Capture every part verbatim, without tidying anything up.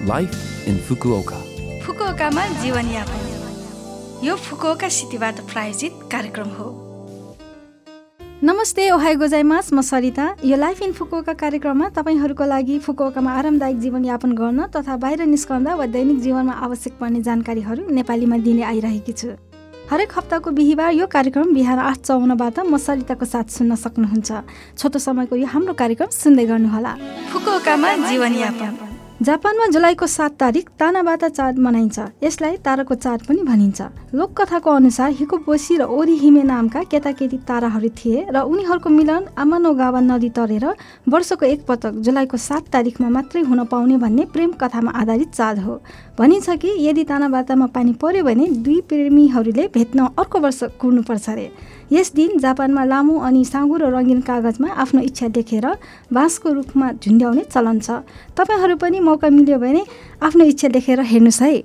Life in Fukuoka. फुकुओकामा जीवनयापन यो Fukuoka सिटीबाट प्रायोजित कार्यक्रम हो। नमस्ते, ओहाई गोजाइमास, म सरिता। यो लाइफ इन फुकुओका कार्यक्रममा तपाईँहरूको लागि फुकुओकामा आरामदायक जीवनयापन गर्न तथा बाहिर निस्कँदा वा दैनिक जीवनमा आवश्यक पर्ने जानकारीहरू नेपालीमा दिने आइरहेकी छु। हरेक हप्ताको बिहिबार यो कार्यक्रम बिहान आठ चौवन्नबाट म सरिताको साथ सुन्न सक्नुहुन्छ। छोटो समयको यो हाम्रो कार्यक्रम सुन्दै गर्नुहोला। फुकुओकामा जीवनयापन। जापानमा जुलाईको सात तारिक तानाबाता चाड मनाइन्छ। यसलाई ताराको चाड पनि भनिन्छ। लोककथाको अनुसार हिकोबोसी र ओरिहिमे नामका केटाकेटी ताराहरू थिए र उनीहरूको मिलन आमानोगावा नदी तरेर वर्षको एकपटक जुलाईको सात तारिकमा मात्रै हुन पाउने भन्ने प्रेम कथामा आधारित चाड हो। भनिन्छ कि यदि तानाबातामा पानी पर्यो भने दुई प्रेमीहरूले भेट्न अर्को वर्ष कुर्नुपर्छ अरे। यस दिन जापानमा लामो अनि साँगुरो रङ्गीन कागजमा आफ्नो इच्छा लेखेर बाँसको रुखमा झुन्ड्याउने चलन छ। तपाईँहरू पनि मौका मिल्यो भने आफ्नो इच्छा लेखेर हेर्नुहोस् है।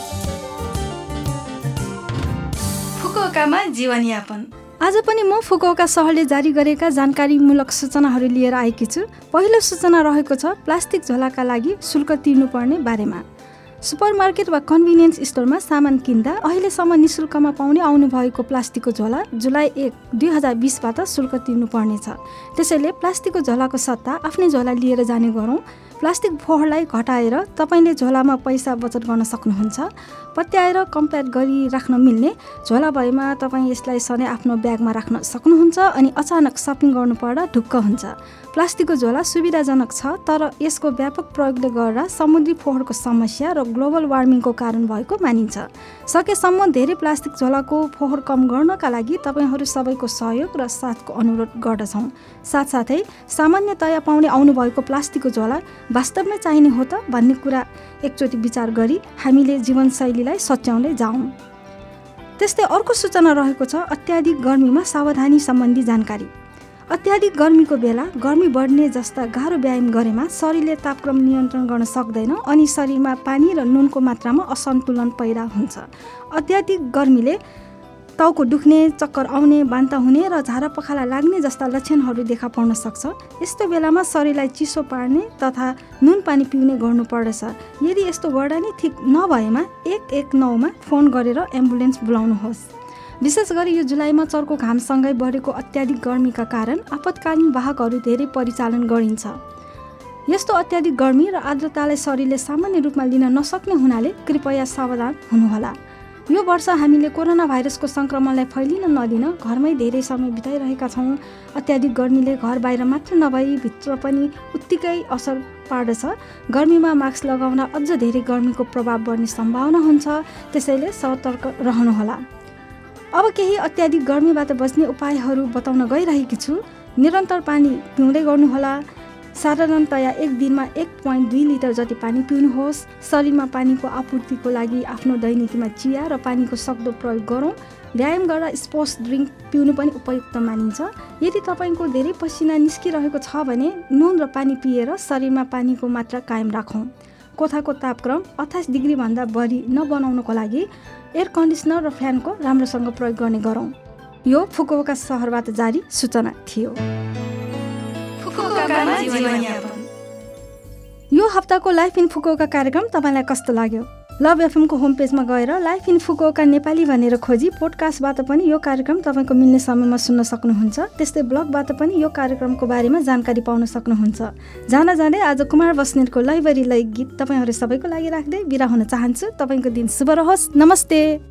फुकुओकामा जीवनयापन। आज पनि म फुकुओका सहरले जारी गरेका जानकारीमूलक सूचनाहरू लिएर आएकी छु। पहिलो सूचना रहेको छ प्लास्टिक झोलाका लागि शुल्क तिर्नुपर्ने बारेमा। सुपरमार्केट वा कन्भिनियन्स स्टोरमा सामान किन्दा अहिलेसम्म निशुल्कमा पाउने आउनुभएको प्लास्टिकको झोला जुलाई एक दुई हजार बिसबाट शुल्क तिर्नुपर्नेछ। त्यसैले प्लास्टिकको झोलाको सट्टा आफ्नै झोला लिएर जाने गरौँ। प्लास्टिक फोहोरलाई घटाएर तपाईँले झोलामा पैसा बचत गर्न सक्नुहुन्छ। पत्याएर कम्प्याक्ट गरी राख्न मिल्ने झोला भएमा तपाईँ यसलाई सधैँ आफ्नो ब्यागमा राख्न सक्नुहुन्छ अनि अचानक सपिङ गर्नु पर्दा ढुक्क हुन्छ। प्लास्टिकको झोला सुविधाजनक छ, तर यसको व्यापक प्रयोगले गर्दा समुद्री फोहोरको समस्या र ग्लोबल वार्मिङको कारण भएको मानिन्छ। सकेसम्म धेरै प्लास्टिक झोलाको फोहोर कम गर्नका लागि तपाईँहरू सबैको सहयोग र साथको अनुरोध गर्दछौँ। साथसाथै सामान्यतया पाउने आउनुभएको प्लास्टिकको झोला वास्तवमै चाहिने हो त भन्ने कुरा एकचोटि विचार गरी हामीले जीवनशैलीलाई सच्याउँदै जाउँ। त्यस्तै अर्को सूचना रहेको छ अत्याधिक गर्मीमा सावधानी सम्बन्धी जानकारी। अत्याधिक गर्मीको बेला गर्मी बढ्ने जस्ता गाह्रो व्यायाम गरेमा शरीरले तापक्रम नियन्त्रण गर्न सक्दैन अनि शरीरमा पानी र नुनको मात्रामा असन्तुलन पैदा हुन्छ। अत्याधिक गर्मीले टाउको दुख्ने, चक्कर आउने, बान्ता हुने र झाडा पखाला लाग्ने जस्ता लक्षणहरू देखा पर्न सक्छ। यस्तो बेलामा शरीरलाई चिसो पार्ने तथा नुन पानी पिउने गर्नुपर्दछ। यदि यस्तो गर्दा नि ठिक नभएमा एक एक नौमा फोन गरेर एम्बुलेन्स बोलाउनुहोस्। विशेष गरी यो जुलाईमा चर्को घामसँगै बढेको अत्याधिक गर्मीका कारण आपतकालीन वाहकहरू धेरै परिचालन गरिन्छ। यस्तो अत्याधिक गर्मी र आर्द्रतालाई शरीरले सामान्य रूपमा लिन नसक्ने हुनाले कृपया सावधान हुनुहोला। यो वर्ष हामीले कोरोना भाइरसको सङ्क्रमणलाई फैलिन नदिन घरमै धेरै समय बिताइरहेका छौँ। अत्याधिक गर्मीले घर बाहिर मात्र नभई भित्र पनि उत्तिकै असर पार्दछ। गर्मीमा मास्क लगाउन अझ धेरै गर्मीको प्रभाव बढ्ने सम्भावना हुन्छ। त्यसैले सतर्क रहनुहोला। अब केही अत्याधिक गर्मीबाट बच्ने उपायहरू बताउन गइरहेकी छु। निरन्तर पानी पिउँदै गर्नुहोला। साधारणतया एक दिनमा एक पोइन्ट दुई लिटर जति पानी पिउनुहोस्। शरीरमा पानीको आपूर्तिको लागि आफ्नो दैनिकीमा चिया र पानीको सक्दो प्रयोग गरौँ। व्यायाम गर्दा स्पोर्ट्स ड्रिङ्क पिउनु पनि उपयुक्त मानिन्छ। यदि तपाईँको धेरै पसिना निस्किरहेको छ भने नुन र पानी पिएर शरीरमा पानीको मात्रा कायम राखौँ। कोठाको तापक्रम अट्ठाइस डिग्रीभन्दा बढी नबनाउनको लागि एयर कन्डिसनर र फ्यानको राम्रोसँग प्रयोग गर्ने गरौँ। यो फुकुओका सहरबाट जारी सूचना थियो। यो हप्ताको लाइफ इन फुकुओका कार्यक्रम तपाईँलाई कस्तो लाग्यो? लभ एफएमको होम पेजमा गएर लाइफ इन फुकुओका नेपाली भनेर खोजी पोडकास्टबाट पनि यो कार्यक्रम तपाईँको मिल्ने समयमा सुन्न सक्नुहुन्छ। त्यस्तै ब्लगबाट पनि यो कार्यक्रमको बारेमा जानकारी पाउन सक्नुहुन्छ। जान जाँदै आज कुमार बस्नेतको लैबरी लै गीत तपाईँहरू सबैको लागि राख्दै बिदा हुन चाहन्छु। तपाईँको दिन शुभ रहोस्। नमस्ते।